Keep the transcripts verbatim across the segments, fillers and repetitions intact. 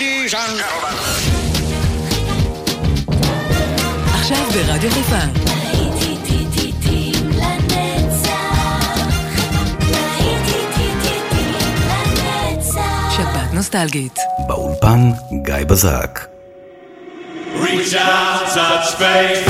Ladies and gentlemen. עכשיו ברדיו חיפה. שבת נוסטלגית. באולפן גיא בזק. Reach out, touch faith.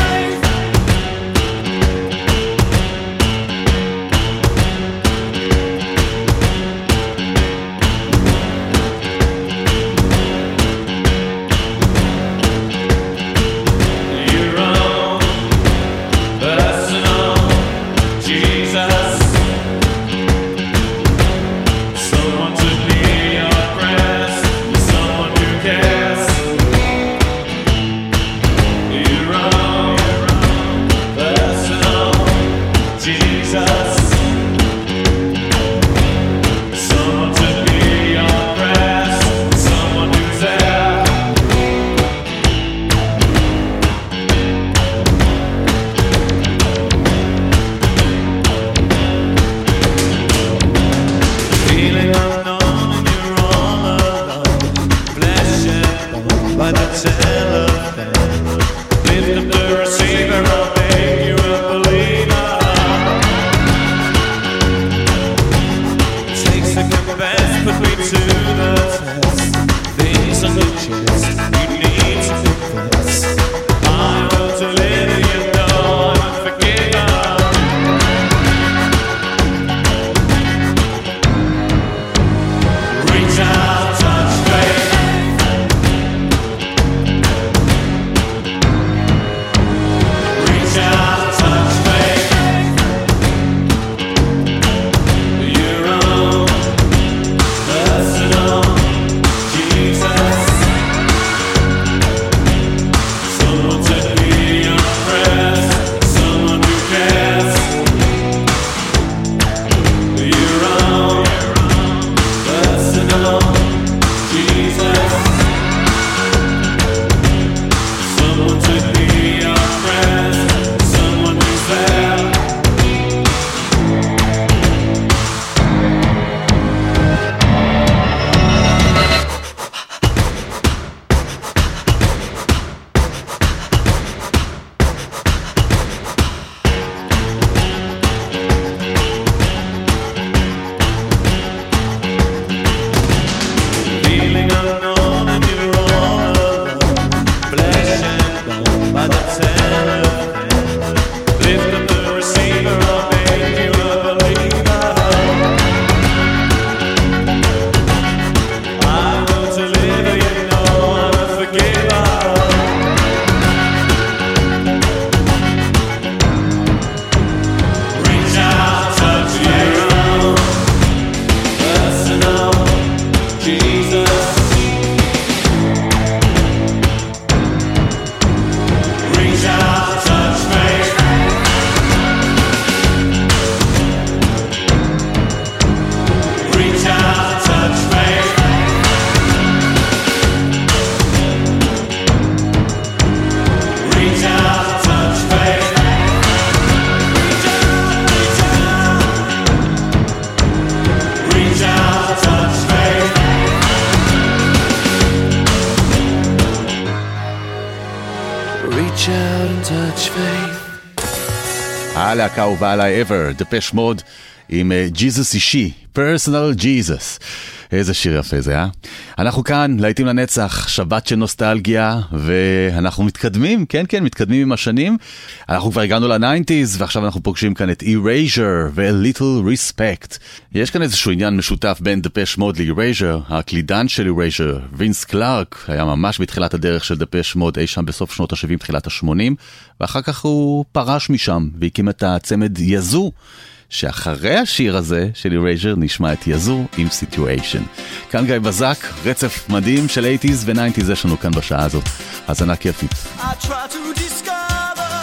הלהקה הובאה עליי ever, דפש מוד עם ג'יזוס אישי, פרסונל ג'יזוס. איזה שיר יפה זה, אה? אנחנו כאן, להיטים לנצח, שבת של נוסטלגיה, ואנחנו מתקדמים, כן, כן, מתקדמים עם השנים. אנחנו כבר הגענו ל-תשעים, ועכשיו אנחנו פוגשים כאן את Erasure ו-Little Respect. יש כאן איזשהו עניין משותף בין דפש מוד ל-Erasure. הקלידן של Erasure, וינס קלארק, היה ממש בתחילת הדרך של דפש מוד, אי שם בסוף שנות ה-שבעים, תחילת ה-שמונים, ואחר כך הוא פרש משם, והקים את הצמד יזו, שאחרי השיר הזה של Erasure נשמע את יזו עם Situation. כאן גיא בזק, רצף מדהים של שמונים ו-תשעים יש לנו כאן בשעה הזאת. האזנה כיפית. I try to discover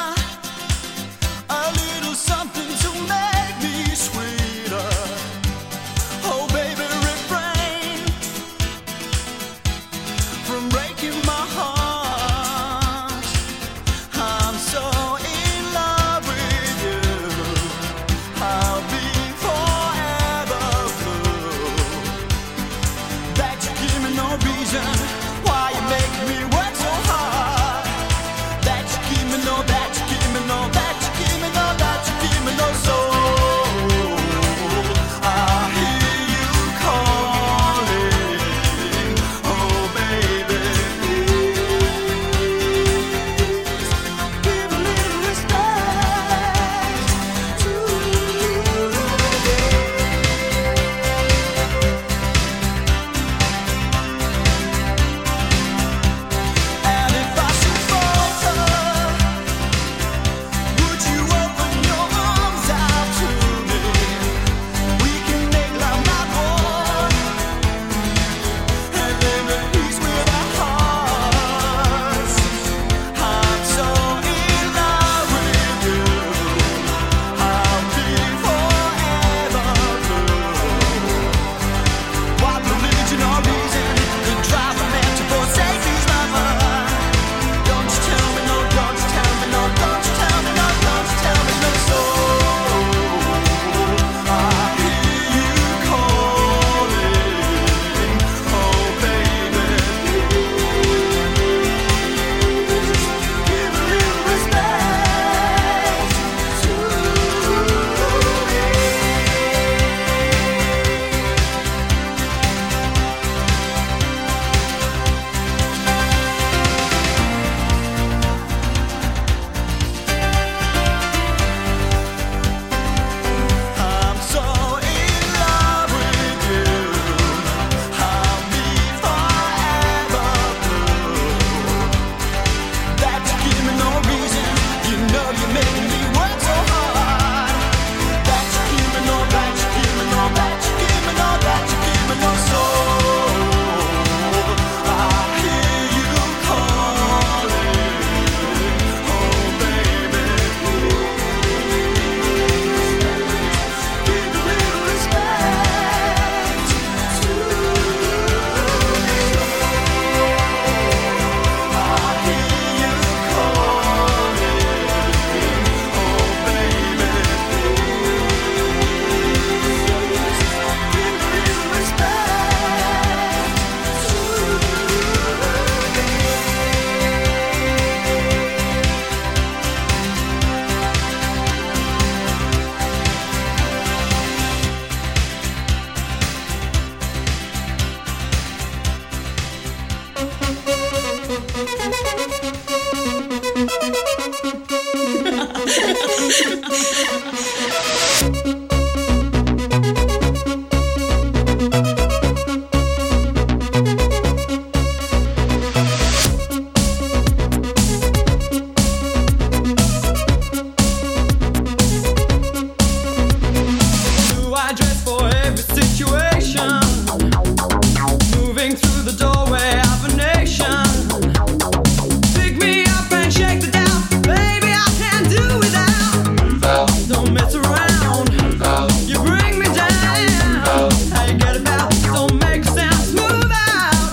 a little something to make me sweeter. Oh baby, refrain from breaking my heart. I'm so in love with you. I'll be forever blue. That you give me no reason reason why you make me work so hard. That you keep me, know that you keep me, know that you keep me, know that you keep me, know so. I hear you calling, oh baby, please give a little respect to And if I should falter, would you open your arms out to me? We can make love not war, and live at peace with our hearts. I'm so in love with you. I'll be forever blue. What religion or reason could drive a man to forsake his lover? Don't you tell me no, don't you tell me no, don't you tell me no, don't you tell me no. So I hear you calling, oh baby, please give a little respect to me. I'm so in love with you. I'll be forever blue. That you give me no reason. You know you're making me work so hard. That you give me no, that you give me no, that you give me no, that you give me no soul. I hear you calling, oh baby, give a little respect to me. I hear you calling, oh baby, give a little respect to Do I dress for every situation? Moving through the doorway of a nation. Pick me up and shake the down. Baby, I can't do without. Don't mess around. You bring me down. How you get about? Don't make a sound. Move out.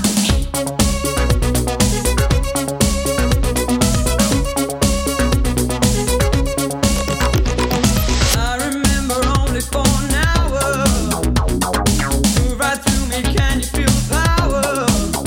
I remember only for an hour. Move right through me, can you feel the power?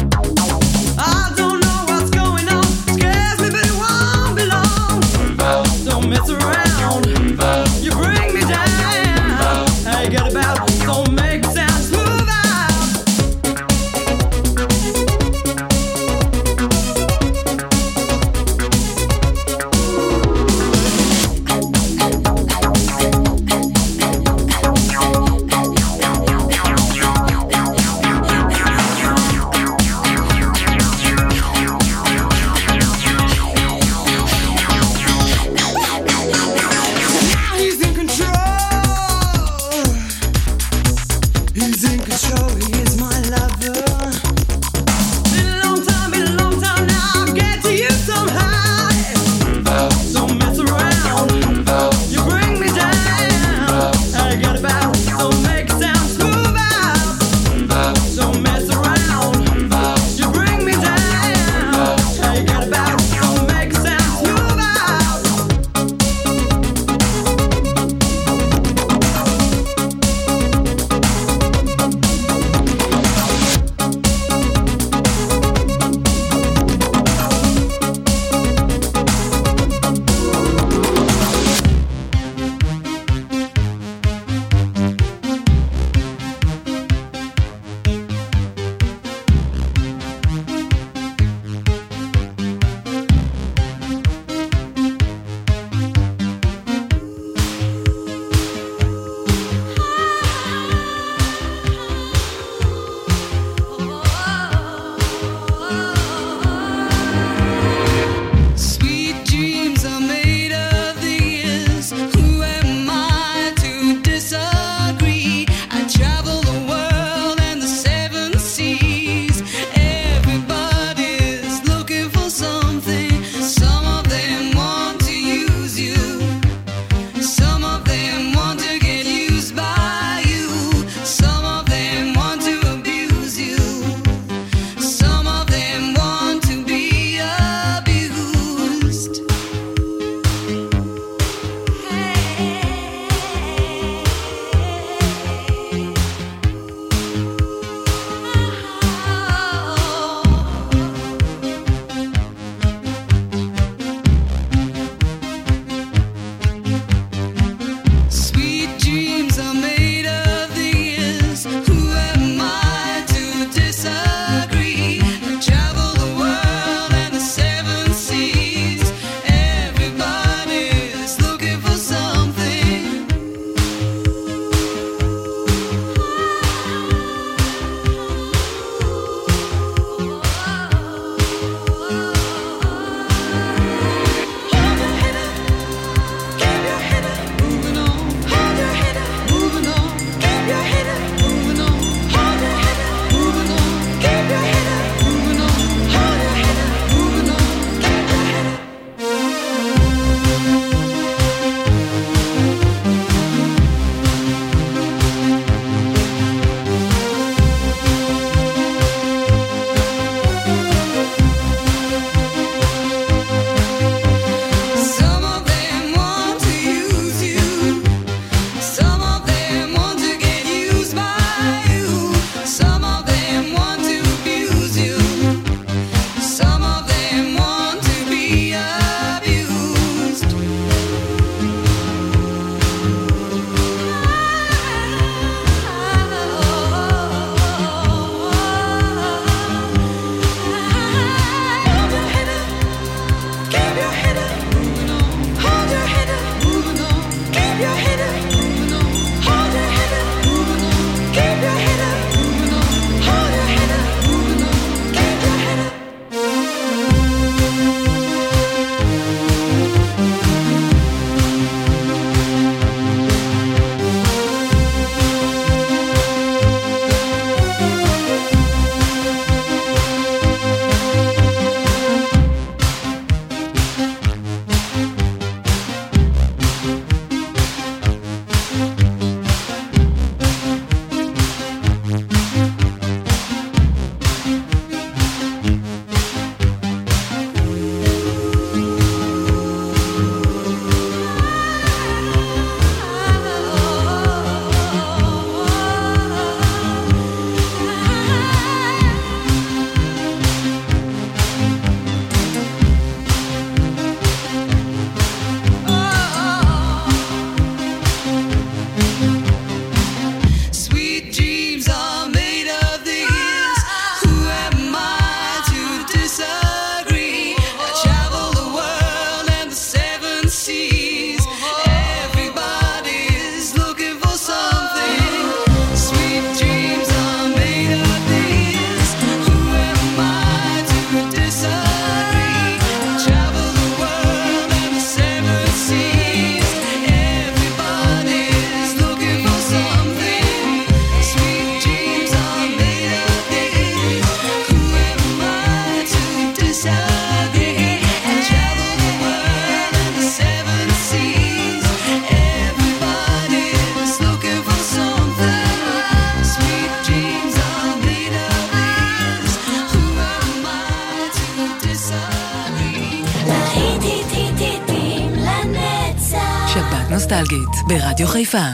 נוסטלגית ברדיו חיפה.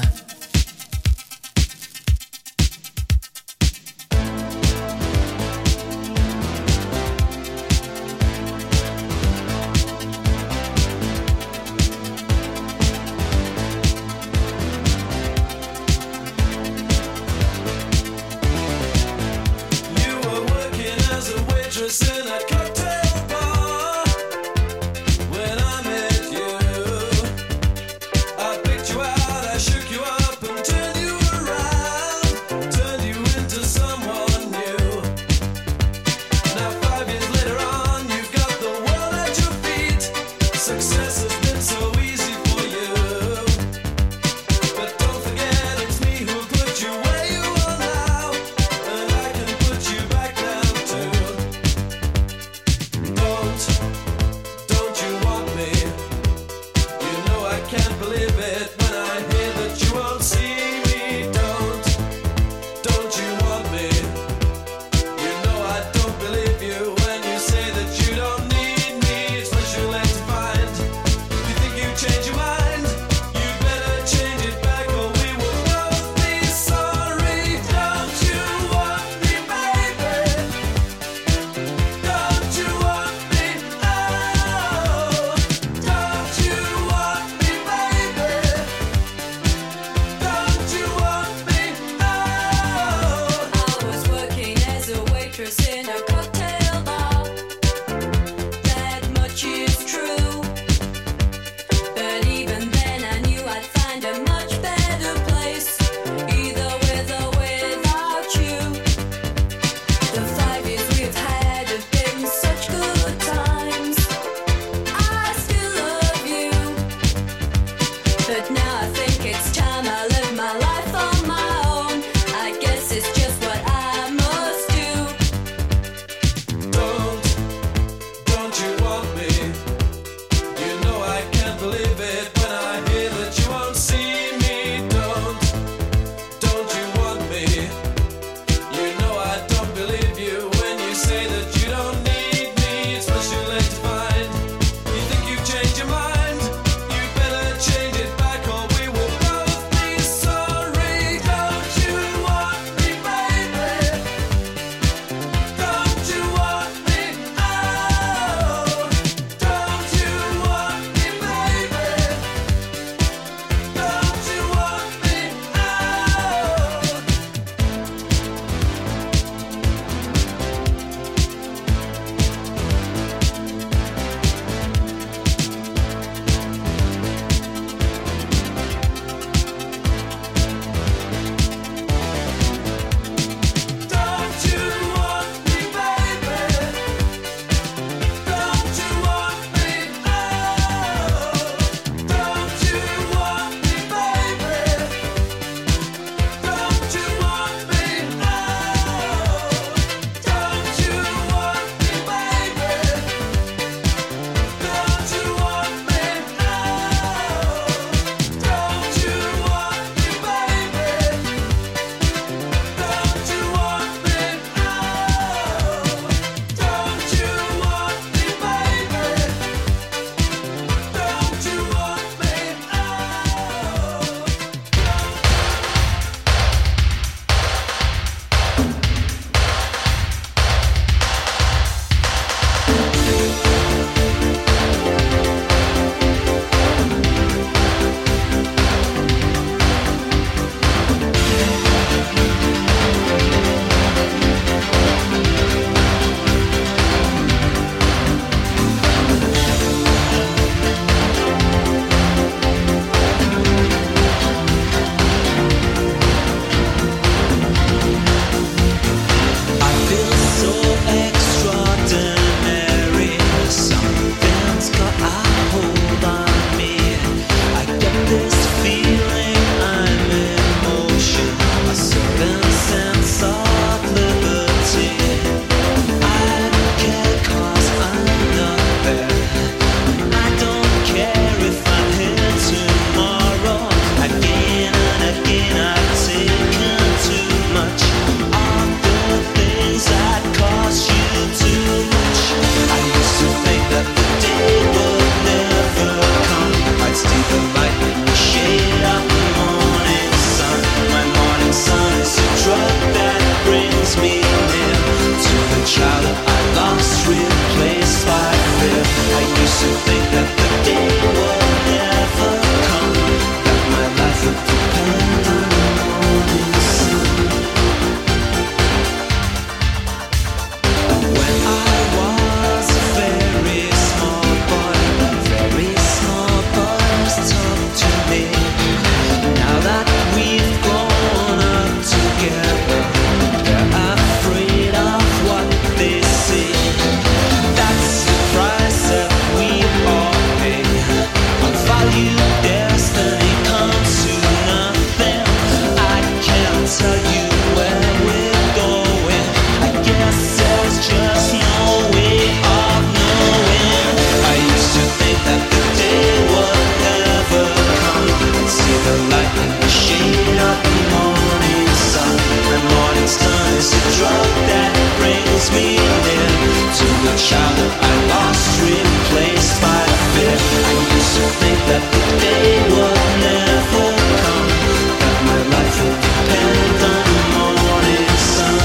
child that I lost replaced by fear. I used to think that the day would never come, that my life would depend on the morning sun.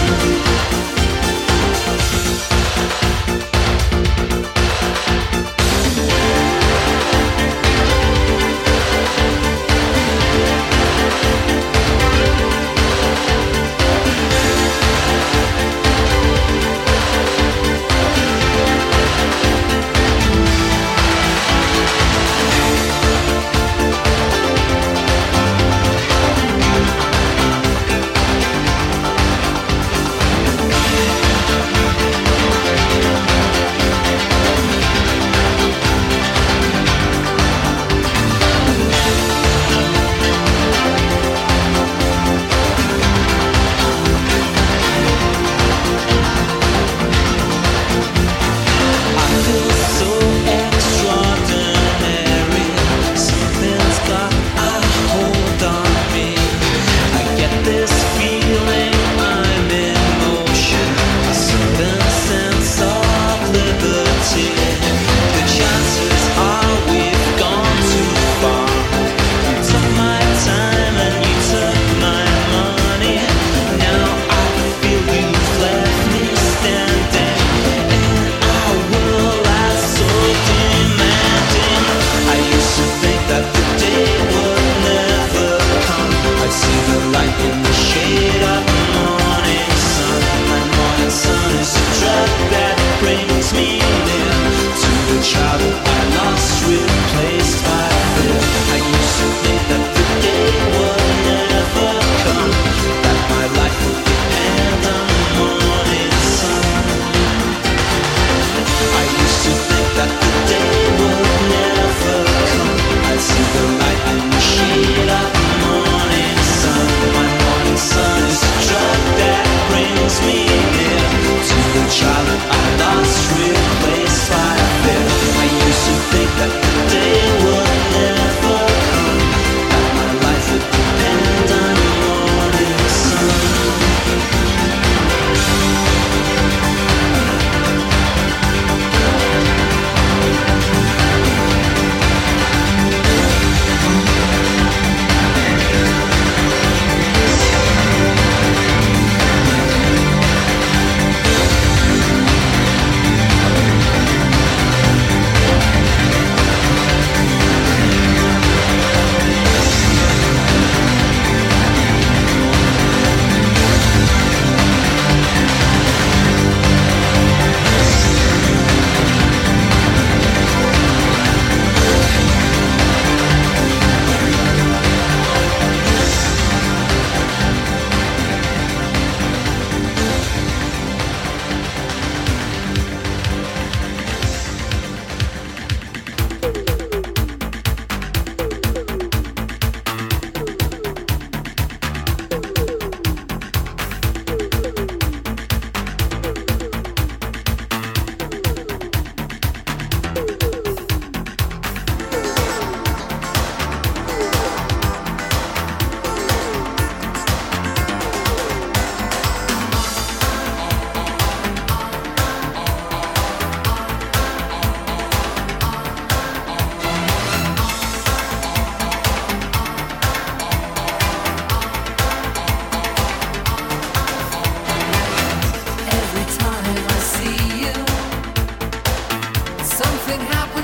Every time I see you, something happens.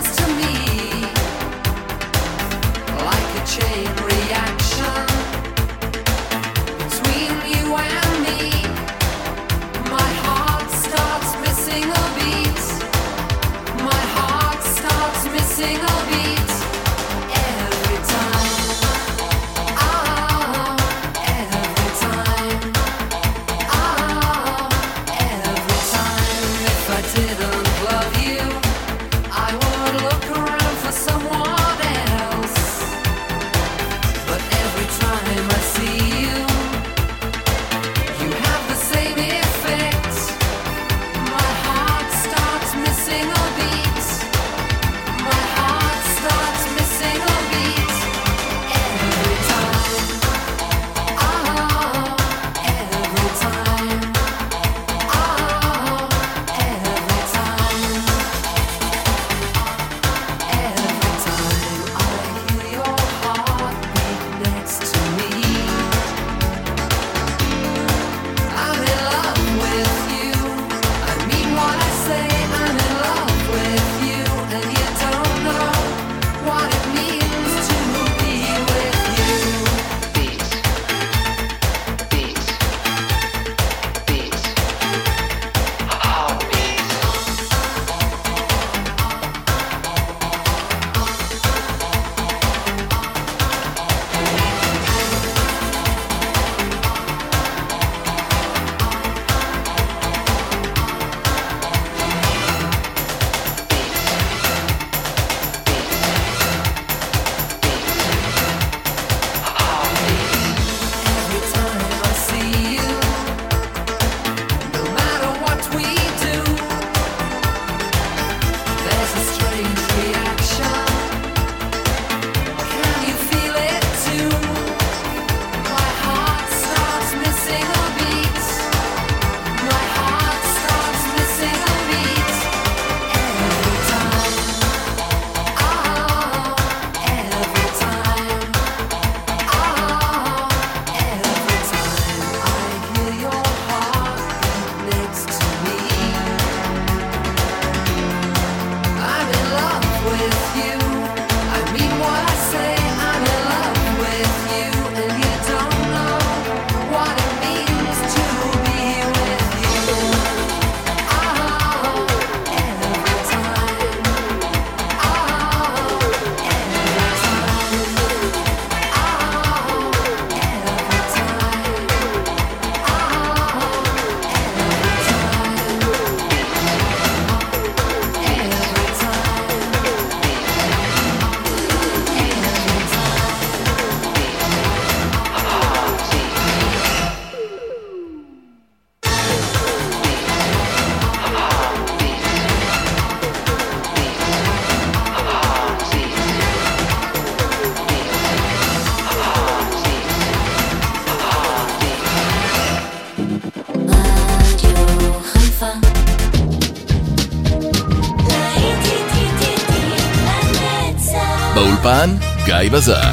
באולפן גיא בזק.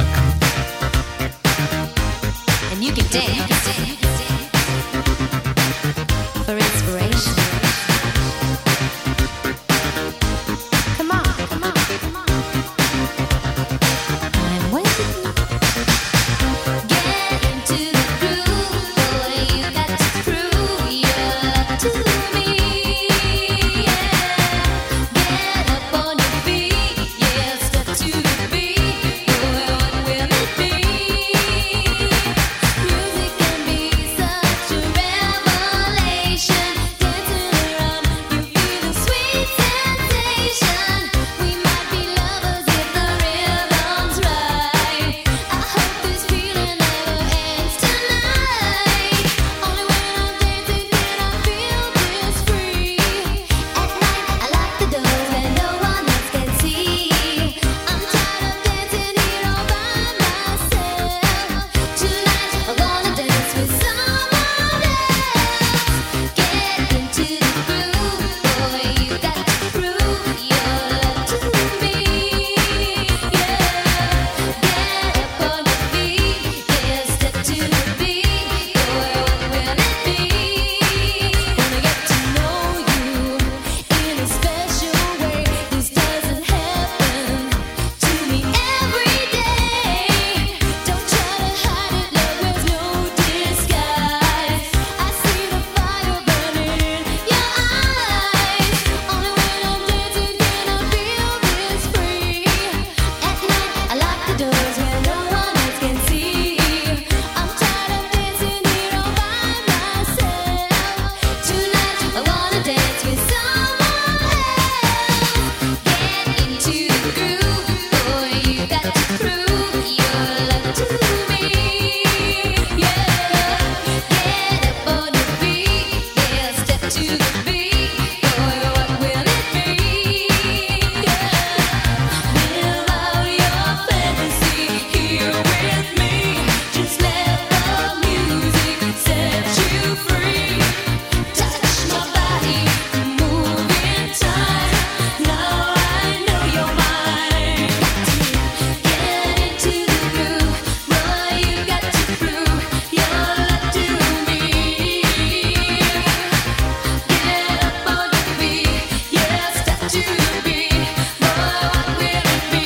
And you can dance for inspiration. Come on, come on, come on. I'm waiting. Get into the groove, boy. You got to prove your love to me. Yeah. Get up on your feet, yeah. Step to the beat, boy. What will it be? Music can be such a revelation. Dancing around, you feel a sweet sensation. We might be lovers if the rhythm's right. I hope this feeling never ends tonight. Only when I'm dancing can I feel this free. At night I lock the doors where no one else can see. I'm tired of dancing here all by myself. Tonight I wanna dance with someone else. Get into the groove, boy. You got to prove your love to me. Yeah. Get up on your feet, yeah. Step to the beat, boy. What will it be? Wanna get to know you in a special way. This doesn't happen to me every day. Don't try to hide it, love. There's no disguise. I see the fire burning in your eyes. Only when I'm dancing can I feel this free. At night I lock the doors where no one else can see. I'm tired of dancing here all by myself. Tonight I wanna dance with someone else. Get into the groove, boy. You got to prove your love to me. Yeah. Get up on your feet, yeah. Step to the beat, boy. What will it be? Yeah. Live out your fantasy here with me. Just let the music set you free. Touch my body, move in time. Now I know you're mine. Get into the groove, boy. You got to prove your love to me. Get up on your feet, yeah. Step to the beat, boy. What will it be?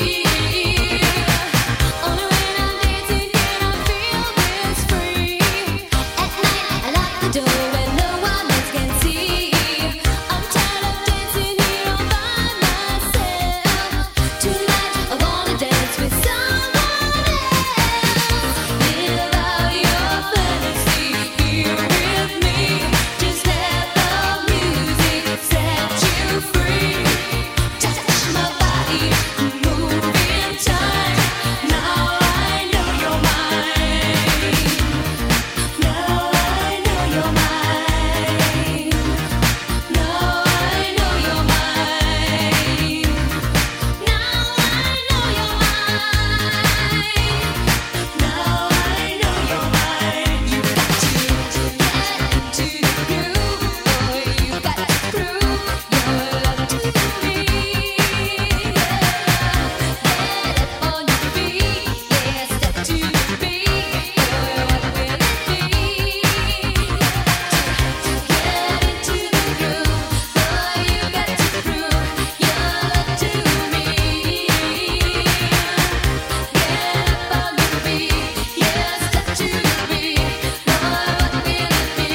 Only when I'm dancing can I feel this free. At night I lock the door where no one else can see. I'm tired of dancing here all by myself. Tonight I wanna dance with someone else. Live out your fantasy here with me. Just let the music set you free. Touch my body, move in time. Now I know you're mine. Now I know you're mine. Now I know you're mine. Now I know you're mine. Now I know you're mine. You got to get into the groove, boy. You got to prove your love to me. Yeah. Get up on your feet, yeah. Step to the beat, boy. What will it be? Get into the groove, boy. You got to prove your love to me. Get up on your feet, yeah. Step to the beat, boy. What will it be?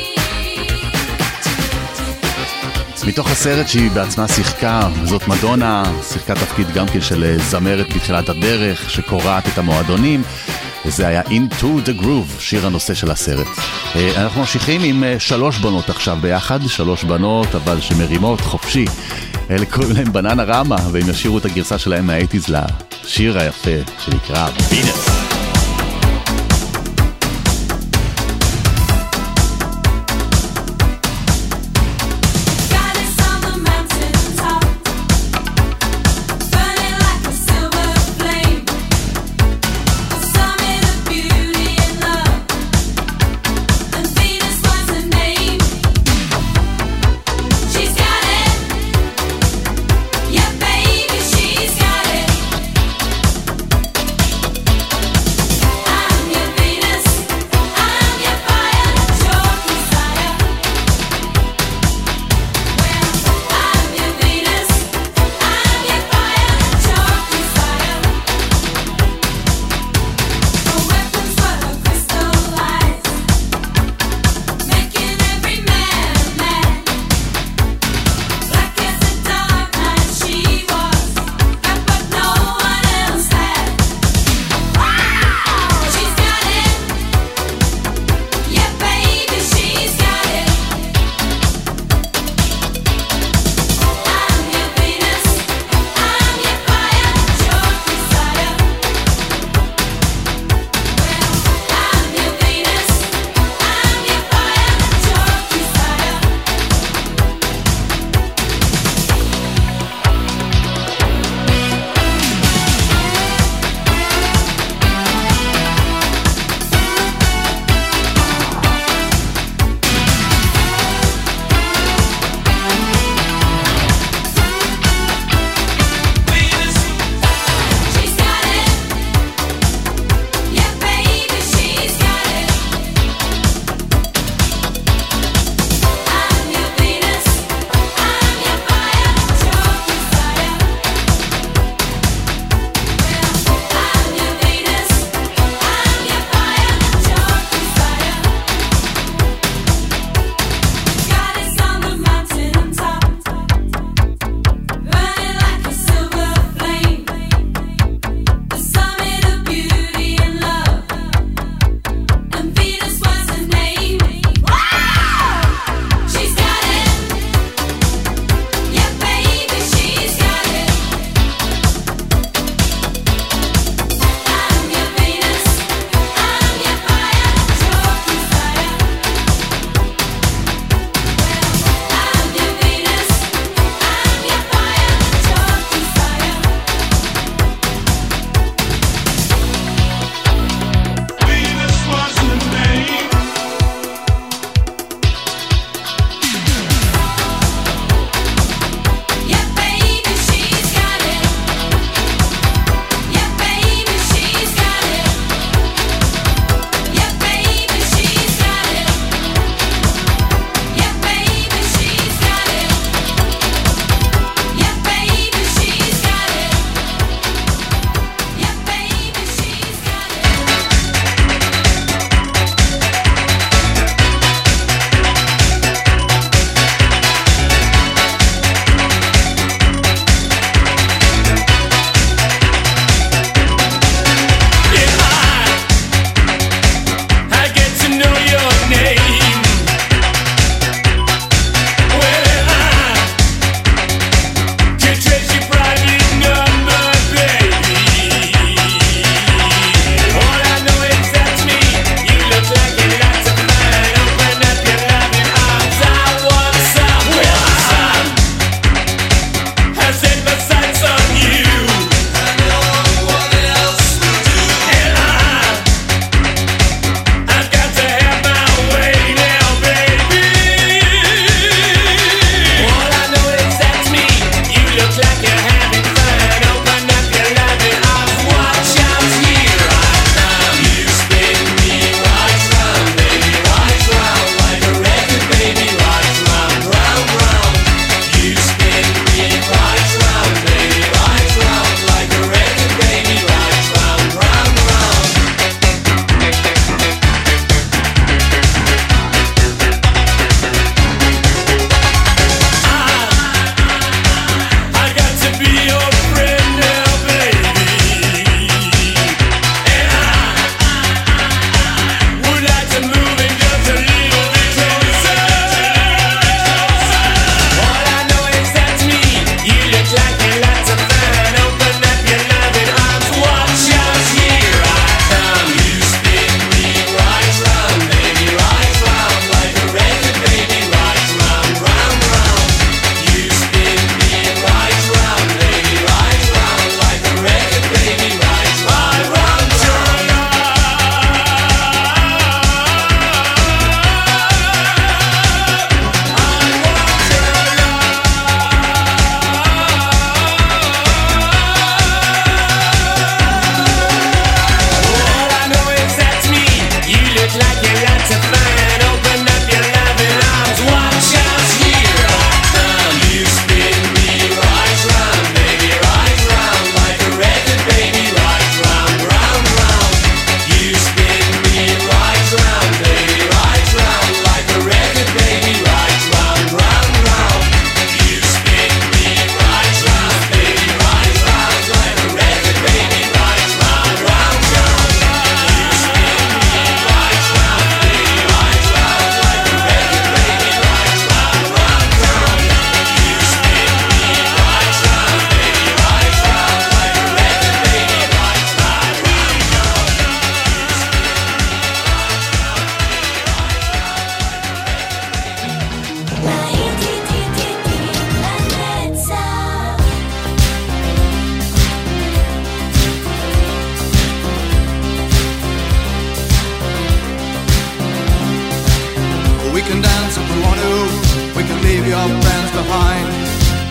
מתוך הסרט שהיא בעצמה שיחקה, זאת מדונה, שיחקה תפקיד גם כן של זמרת בתחילת הדרך, שקוראת את המועדונים, וזה היה Into the Groove, שיר הנושא של הסרט. אנחנו ממשיכים עם שלוש בנות עכשיו ביחד, שלוש בנות אבל שמרימות חופשי. אלה קוראים להם בננה רמה, והם ישירו את הגרסה שלהם מה-שמונים לשיר היפה שנקרא Venus. Goddess on the mountain top, burning like a silver flame, a summit of beauty and love, and Venus was her name. She's got it, yeah baby, she's got it.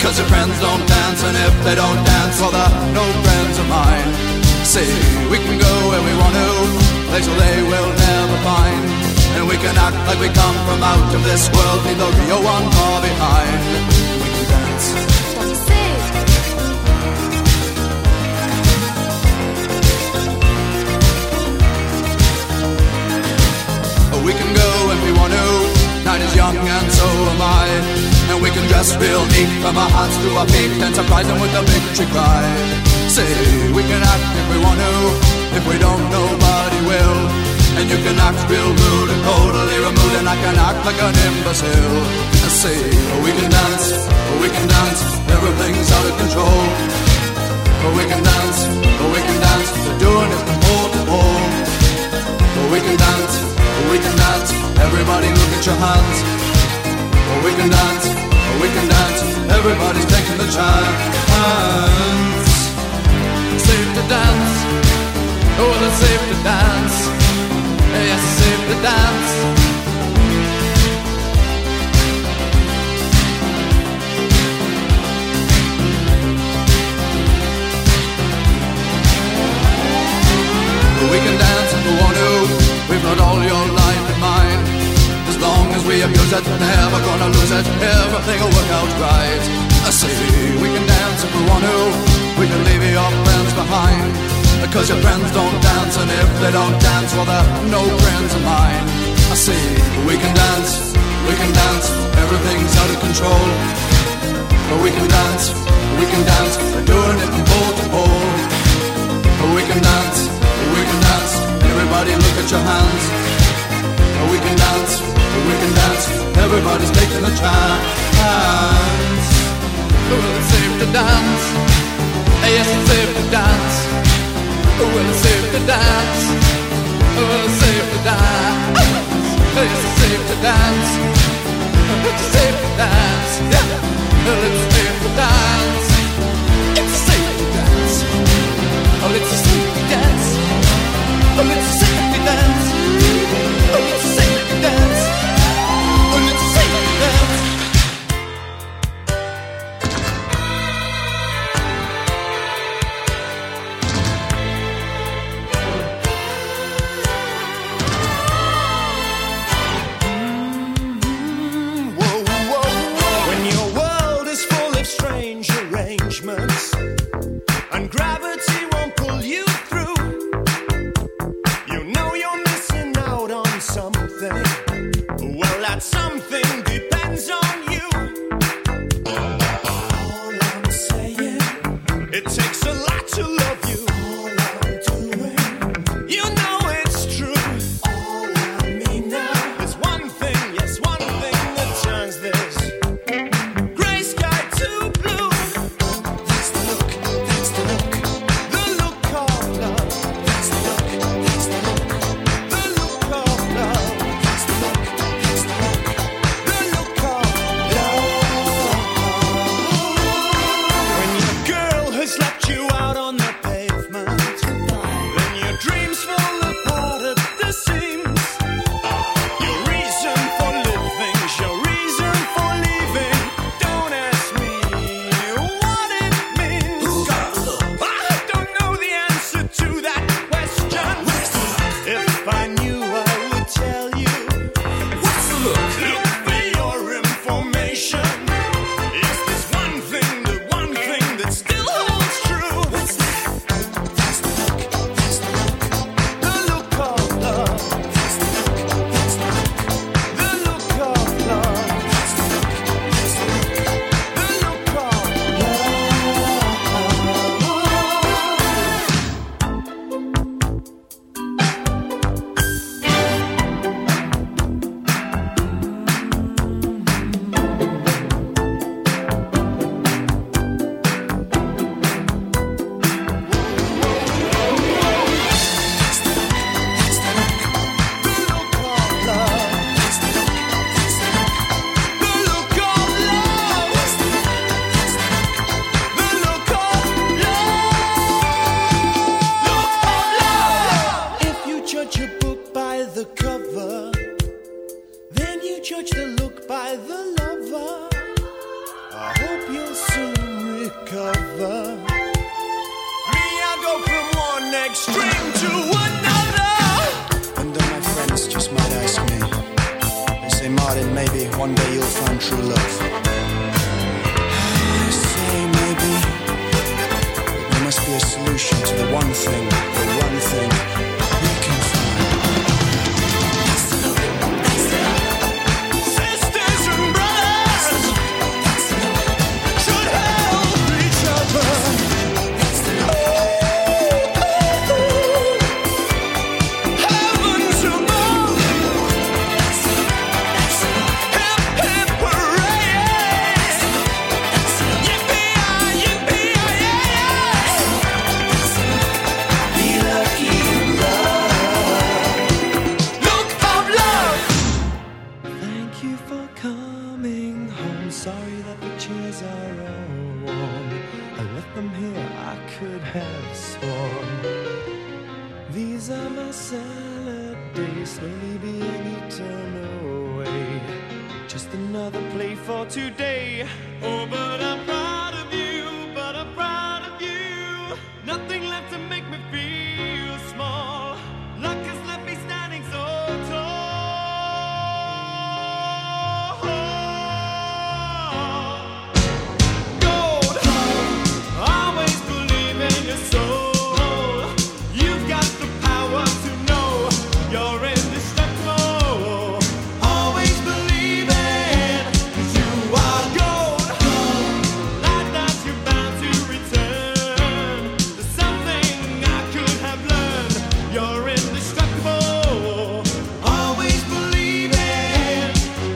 Cause your friends don't dance, and if they don't dance, well they're no friends of mine. See, we can go where we want to, places they will never find. And we can act like we come from out of this world, leave the real one far behind. We can dance. We can go if we want to, night is young and so am I. And we can dress real neat from our hearts to our feet and surprise them with a victory cry. Say, we can act if we want to, if we don't nobody will. And you can act real rude and totally removed, and I can act like an imbecile. And say, we can dance, we can dance, everything's out of control. We can dance, we can dance, we're doing it from pole to pole. We can dance, we can dance, everybody look at your hands. We can dance, we can dance, everybody's taking the chance. Safe to dance, oh it's safe to dance. Yes, it's safe to dance. We can dance if we want to, we've got all your life in mind. As long as we abuse it, never gonna lose it, everything will work out right. I say, we can dance if we want to, we can leave your friends behind. Because your friends don't dance, and if they don't dance, well they're no friends of mine. I say, we can dance, we can dance, everything's out of control. But we can dance, we can dance, we're doing it from pole to pole. But we can dance, we can dance, everybody look at your hands. We can dance, we can dance, everybody's taking a chance. Well, it's safe to dance, yes, it's safe to dance. Well, it's safe to dance, well, it's safe to dance. Yes, it's safe to dance, it's safe to dance. Well, it's safe to dance, it's safe to dance. Oh, it's safe to dance, oh, it's safe to dance. Oh, it's safe to dance, oh, it's safe to dance. When your world is full cover. Me, I go from one extreme to another. And then my friends just might ask me, they say, Martin, maybe one day you'll find true love. I say maybe, but there must be a solution to the one thing, the one thing we can find. Sisters and brothers should help each other. Heavens above, hip hip hooray! Yippee-yi, yippee-yi-yay! Be lucky in love. Look of love. Thank you for coming home. Sorry that the chairs are all warm. I left them here, I could have sworn. These are my salad days, slowly being eaten away. Just another play for today. Oh, but I'm proud of you, but I'm proud of you. Nothing left to make me feel small. Luck has left me standing so tall. Gold, always believe in your soul. You've got the power to know you're indestructible. Always believe it, 'cause you are gold. Like that you're bound to return. There's something I could have learned. You're indestructible. Always believe it.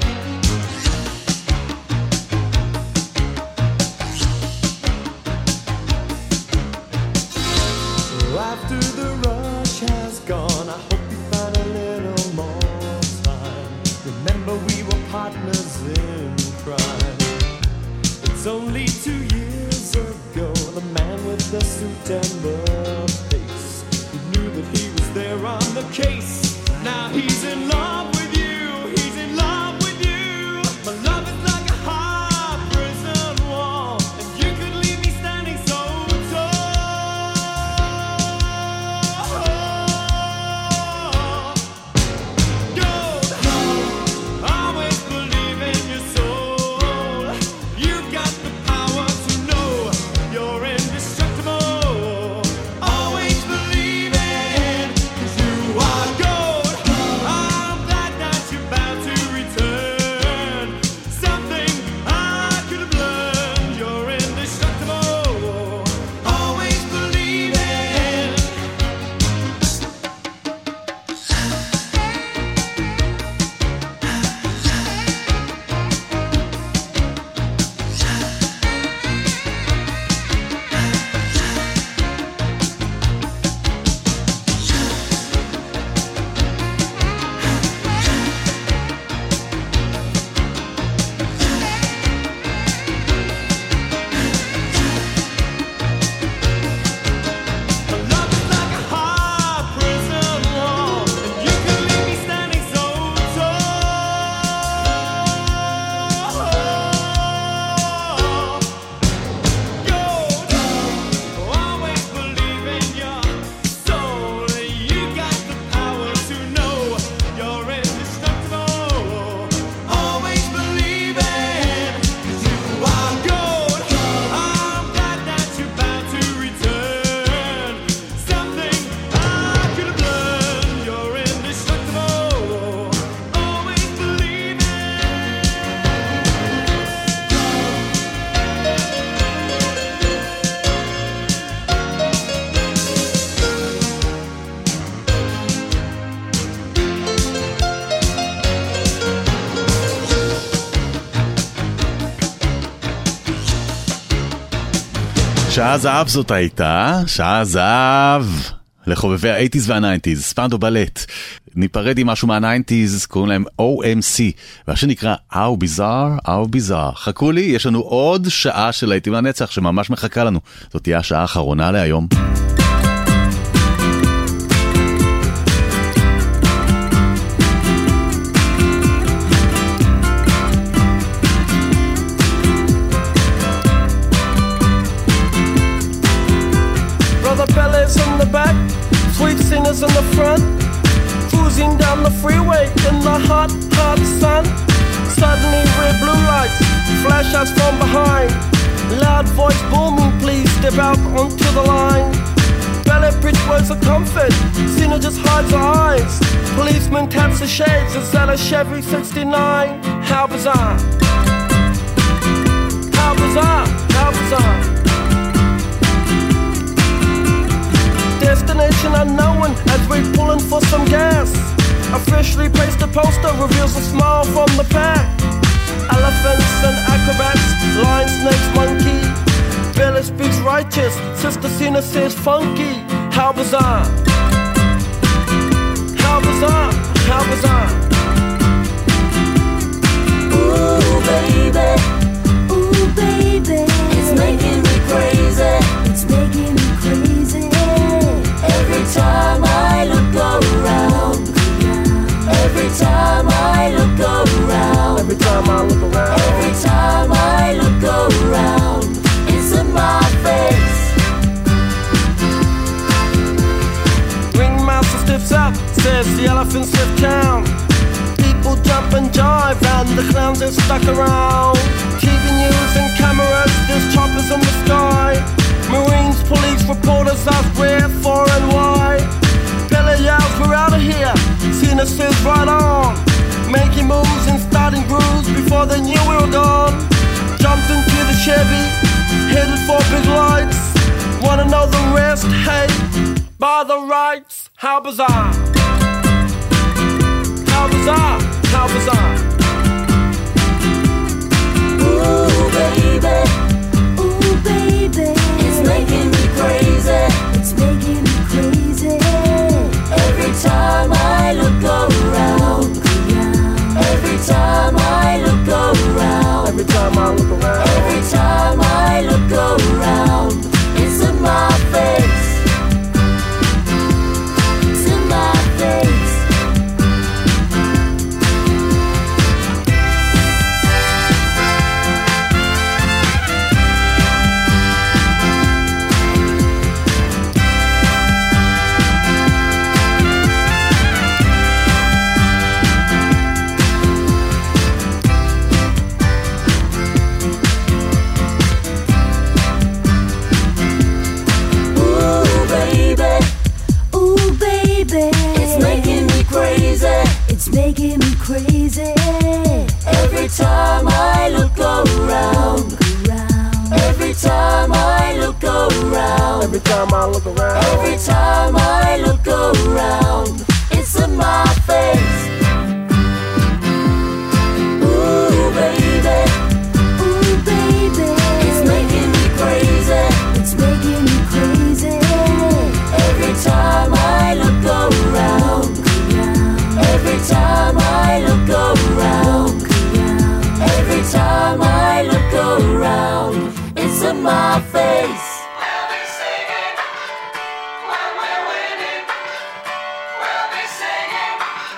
After the rush has gone, I hope you find a little more time. Remember we were partners in crime. It's only two years ago, the man with the suit and the face, he knew that he was there on the case. Now he's in love with you, he's in love with you. My love is like a hard prison wall, and you could leave me standing so tall. Gold, always believe in your soul. You've got the power to know you're indestructible. Always believe it, 'cause you are gold. I'm glad that you're bound to return. Something I could have learned. You're indestructible. Always believe it. Love is like a hard prison wall, and you could leave me standing so tall. Gold, always believe in your soul. You got the power to know you're indestructible. Always believe it, 'cause you are gold. I'm glad that you're bound to return. Something I could have learned. You're indestructible. Always believe it. שעה זהב זאת הייתה, שעה זהב לחובבי ה-שמונים וה-תשעים, ספנדו בלט. ניפרד עם משהו מה-תשעים, קוראים להם או אם סי, והשיר נקרא How Bizarre, How Bizarre. חכו לי, יש לנו עוד שעה של להיטים לנצח שממש מחכה לנו. זאת תהיה השעה האחרונה להיום. sinners in the front, cruising down the freeway in the hot, hot sun. Suddenly red blue lights flash us from behind. Loud voice booming, please step out onto the line. Ballet bridge words of comfort, Cena just hides her eyes. Policeman taps the shades, is that a Chevy sixty-nine? How bizarre, how bizarre, how bizarre. Destination unknown as we pulling for some gas. A freshly pasted poster reveals a smile from the pack. Elephants and acrobats, lion, snakes, monkey. Billy speaks righteous, Sister Cena says funky. How bizarre, how bizarre, how bizarre. Ooh, baby, ooh, baby, it's making me crazy, it's making me crazy. Every time I look around, every time I look around, Every time I look around, every time I look around, it's in my face. Ringmaster stiffs up, says the elephants lift town. People jump and jive and the clowns are stuck around. T V news and cameras, there's choppers in the sky. Marines, police, reporters ask where, for and why. Billy yells, we're out of here. Cena says right on. Making moves and starting grooves before they knew we were gone. Jumped into the Chevy, headed for big lights. Wanna know the rest? Hey, by the rights. How bizarre, how bizarre, how bizarre. Ooh, baby, ooh, baby, it's making me crazy, it's making me crazy. Every time I look around, every time I look around, Every time I look around, every time I look around, it's in my face, it's in my face. Ooh, baby, ooh, baby, it's making me crazy, it's making me crazy. Every time I look around, every time I look around, every time I look around, every time I look around, it's in my face. Ooh, baby, ooh, baby, it's making me crazy, it's making me crazy. Every time I look around, every time I look around, every time I look around, it's in my face. We'll be singing when we're winning. We'll be singing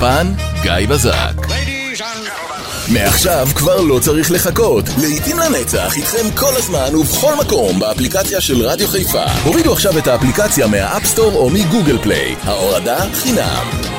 באולפן גיא בזק. מעכשיו כבר לא צריך לחכות. לעתים לנצח איתכם כל הזמן ובכל מקום באפליקציה של רדיו חיפה. הורידו עכשיו את האפליקציה מהאפסטור או מגוגל פליי. ההורדה חינם.